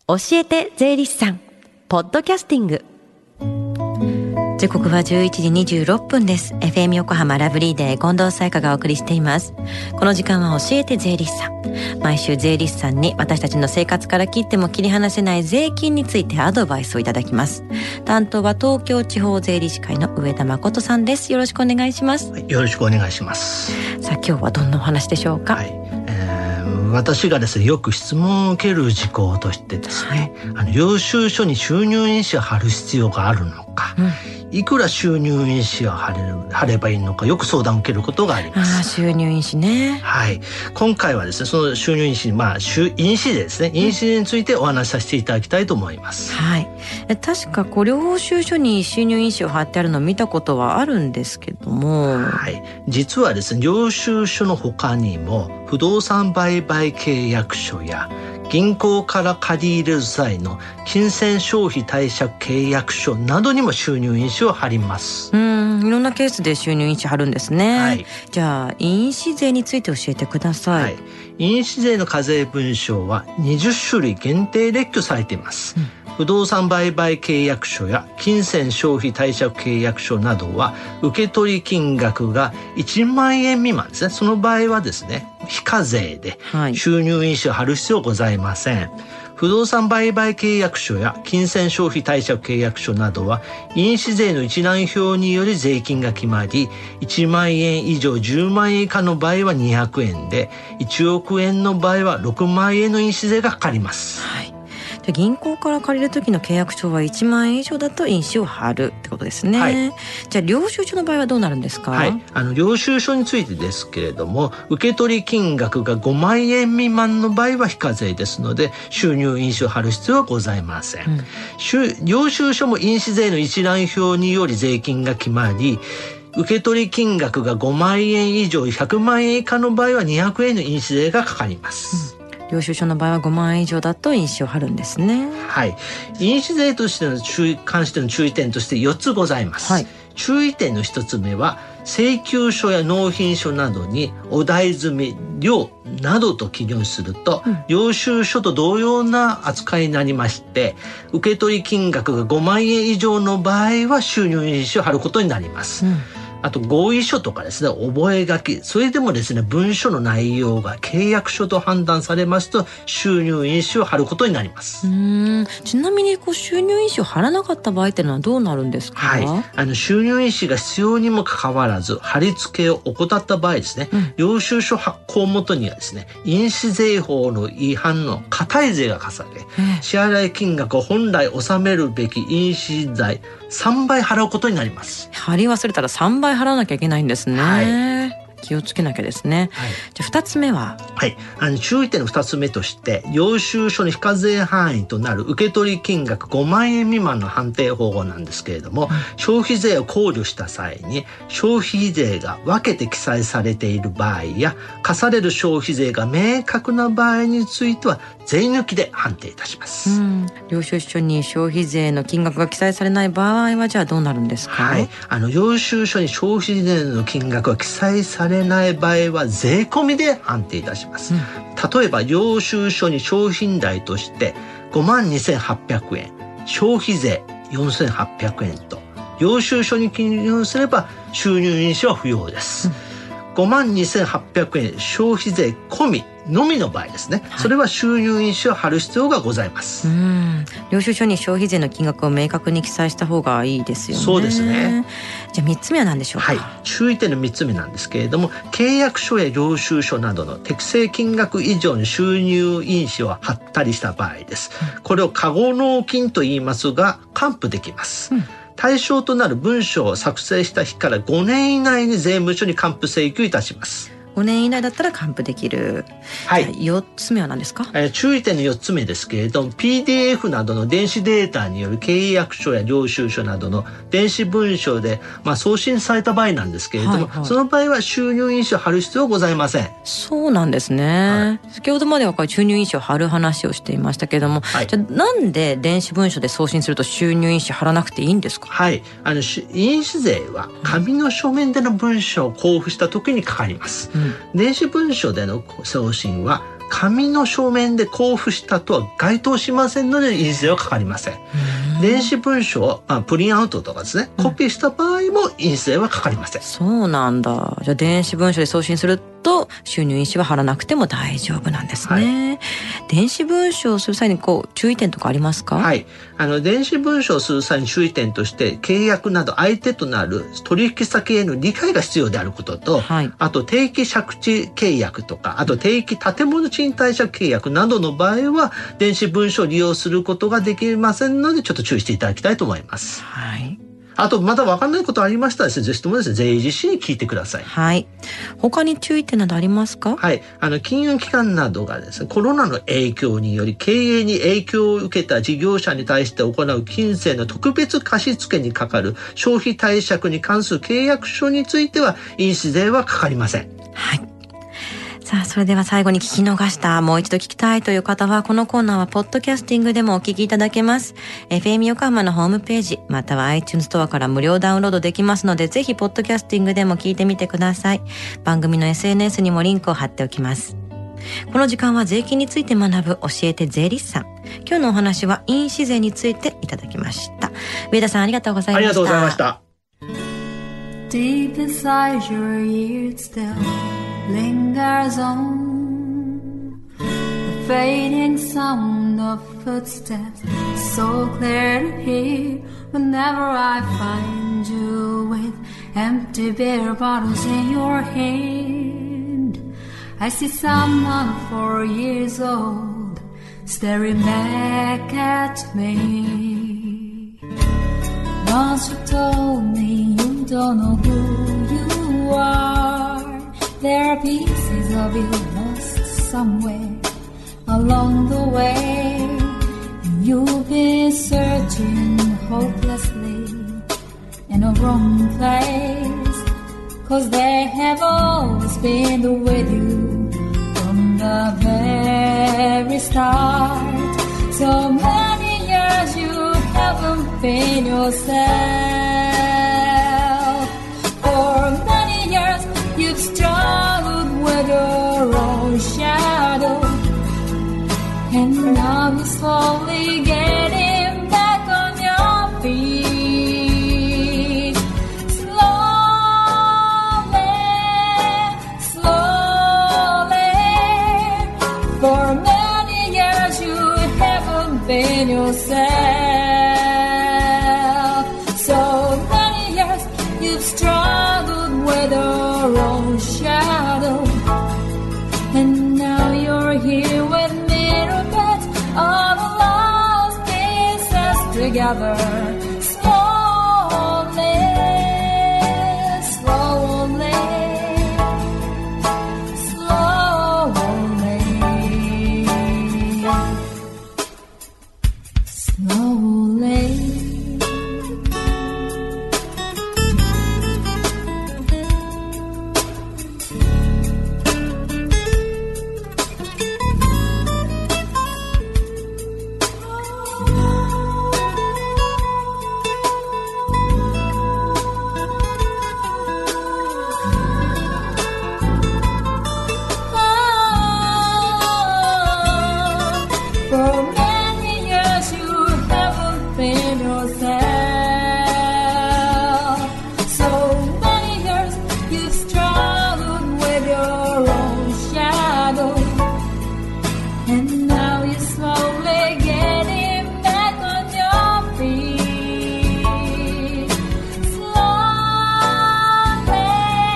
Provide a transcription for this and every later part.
教えて税理士さんポッドキャスティング。時刻は11時26分です。 FM 横浜ラブリーデー近藤沙耶香がお送りしています。この時間は教えて税理士さん。毎週税理士さんに私たちの生活から切っても切り離せない税金についてアドバイスをいただきます。担当は東京地方税理士会の上田誠さんです。よろしくお願いします。 よろしくお願いします。 さあ今日はどんなお話でしょうか。 私がですねよく質問を受ける事項としてですね、領収書に収入印紙を貼る必要があるのか、いくら収入印紙を貼ればいいのかよく相談を受けることがあります。 収入印紙ね。 はい。今回はですねその収入印紙、印紙税ですね、印紙税についてお話しさせていただきたいと思います。 はい。確か領収書に収入印紙を貼ってあるのを見たことはあるんですけども、 はい。実はですね領収書の他にも不動産売買契約書や銀行から借り入れる際の金銭消費貸借契約書などにも収入印紙を貼ります。 いろんなケースで収入印紙貼るんですね。 はい。 じゃあ印紙税について教えてください。 はい。印紙税の課税文書は20種類限定列挙されています。不動産売買契約書や金銭消費貸借契約書などは受取金額が1万円未満ですね。その場合はですね非課税で収入印紙を貼る必要はございません。不動産売買契約書や金銭消費貸借契約書などは印紙税の一覧表により税金が決まり、1万円以上10万円以下の場合は200円で、1億円の場合は6万円の印紙税がかかります。 はい。じゃあ銀行から借りる時の契約書は1万円以上だと印紙を貼るってことですね。はい。じゃあ領収書の場合はどうなるんですか。 はい。領収書についてですけれども、受取金額が5万円未満の場合は非課税ですので収入印紙を貼る必要はございません。領収書も印紙税の一覧表により税金が決まり、受取金額が5万円以上100万円以下の場合は200円の印紙税がかかります。 領収書の場合は5万円以上だと印紙を貼るんですね。 はい。印紙税としての関しての注意点として4つございます。はい。注意点の1つ目は請求書や納品書などにお題済み料などと記入すると、領収書と同様な扱いになりまして、受取金額が5万円以上の場合は収入印紙を貼ることになります。あと合意書とかですね、覚書、それでもですね文書の内容が契約書と判断されますと収入印紙を貼ることになります。 ちなみに収入印紙を貼らなかった場合っていうのはどうなるんですか。 はい。収入印紙が必要にもかかわらず貼り付けを怠った場合ですね、領収書発行元にはですね印紙税法の違反の課対税が課され、支払い金額を本来納めるべき印紙代3倍払うことになります。 貼り忘れたら3倍払わなきゃいけないんですね。はい。気をつけなきゃですね。はい。じゃあ2つ目は。 はい。注意点の2つ目として領収書の非課税範囲となる受取金額5万円未満の判定方法なんですけれども、消費税を考慮した際に消費税が分けて記載されている場合や課される消費税が明確な場合については税抜きで判定いたします。 領収書に消費税の金額が記載されない場合はじゃあどうなるんですか。 はい。領収書に消費税の金額が記載されない場合は税込みで判定いたします。例えば領収書に商品代として52,800円、消費税4,800円と領収書に記入すれば収入印紙は不要です。52,800円消費税込みのみの場合ですね、それは収入印紙を貼る必要がございます。 領収書に消費税の金額を明確に記載した方がいいですよね。 そうですね。 じゃあ3つ目は何でしょうか。 はい。注意点の3つ目なんですけれども、契約書や領収書などの適正金額以上の収入印紙を貼ったりした場合です。これを過誤納金と言いますが還付できます。対象となる文書を作成した日から5年以内に税務署に還付請求いたします。 5年以内だったら還付できる。はい。4つ目は何ですか。 注意点の4つ目ですけれども PDF などの電子データによる契約書や領収書などの電子文書で、送信された場合なんですけれども、その場合は収入印紙を貼る必要はございません。 そうなんですね。先ほどまでは収入印紙を貼る話をしていましたけれども、じゃあなんで電子文書で送信すると収入印紙貼らなくていいんですか。 はい。印紙税は紙の書面での文書を交付した時にかかります。電子文書での送信は紙の書面で交付したとは該当しませんので印税はかかりません。電子文書をプリンアウトとかですね、コピーした場合も印税はかかりません。 そうなんだ。じゃあ電子文書で送信すると収入印紙は貼らなくても大丈夫なんですね。電子文書をする際に注意点とかありますか？ はい。電子文書をする際に注意点として、契約など相手となる取引先への理解が必要であることと、あと定期借地契約とか、あと定期建物賃貸借契約などの場合は電子文書を利用することができませんので、ちょっと注意していただきたいと思います。 はい。 あとまだ分かんないことありましたらですね、ぜひともですね、税理士に聞いてください。 はい。他に注意点などありますか？ はい。金融機関などがですね、コロナの影響により経営に影響を受けた事業者に対して行う金銭の特別貸付にかかる消費貸借に関する契約書については印紙税はかかりません。 はい。さあ、それでは最後に聞き逃した、もう一度聞きたいという方は、このコーナーはポッドキャスティングでもお聞きいただけます。FM 横浜のホームページ、または iTunes ストアから無料ダウンロードできますので、ぜひポッドキャスティングでも聞いてみてください。番組の SNS にもリンクを貼っておきます。この時間は税金について学ぶ教えて税理士さん。今日のお話は印紙税についていただきました。上田さん、ありがとうございました。 ありがとうございました。 Deep inside your ears still lingers on the fading sound of footsteps, so clear to hear whenever I find you with empty beer bottles in your hand. I see someone 4 years old staring back at me. Once you told me you don't know who you are. There are pieces of you lost somewhere along the way. You've been searching hopelessly in a wrong place, 'cause they have always been with you from the very start. So many years you haven't been yourself. For many years you've struggled with your own shadow, and now you're slowly getting back on your feet. Slowly, slowly. For many years you haven't been yourself. So many years you've struggled with your own shadow, and now you're here with me to put all the lost pieces together. Slowly, slowly, slowly, slowly. For many years you haven't been yourself. So many years you've struggled with your own shadow, and now you're slowly getting back on your feet. Slowly,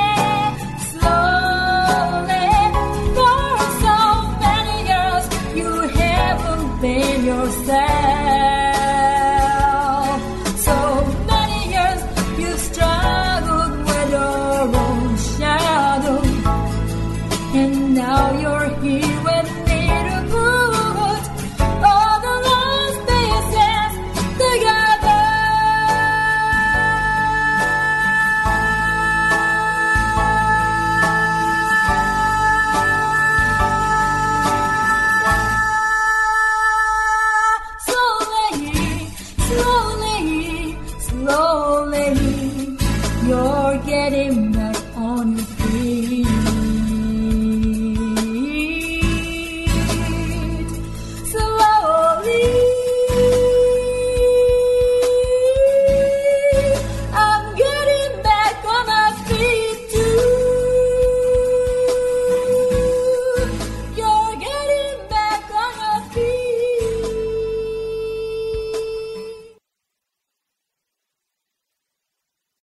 slowly. For so many years you haven't been yourself.